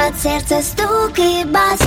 под сердце стук и бас.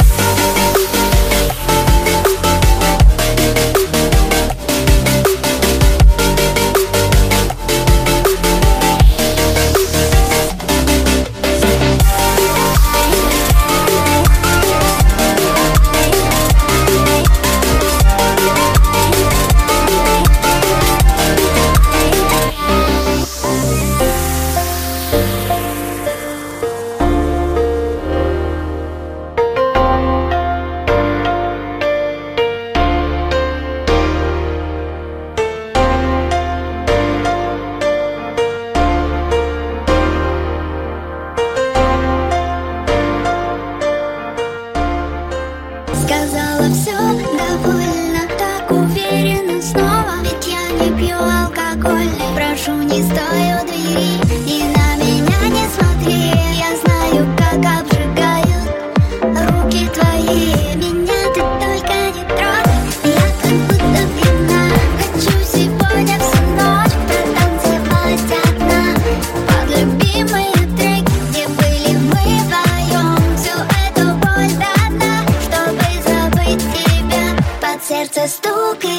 Сказала все довольно, так уверенно снова. Ведь я не пью алкоголь, прошу, не стой у двери и на меня не смотри. Я знаю, как обжигают руки твои. Меня ты только не трогай, я как будто пьяна. Хочу сегодня всю ночь протанцевать одна под любимые треки, где были мы вдвоем. Всю эту боль до дна, чтобы забыть тебя, под сердце стук.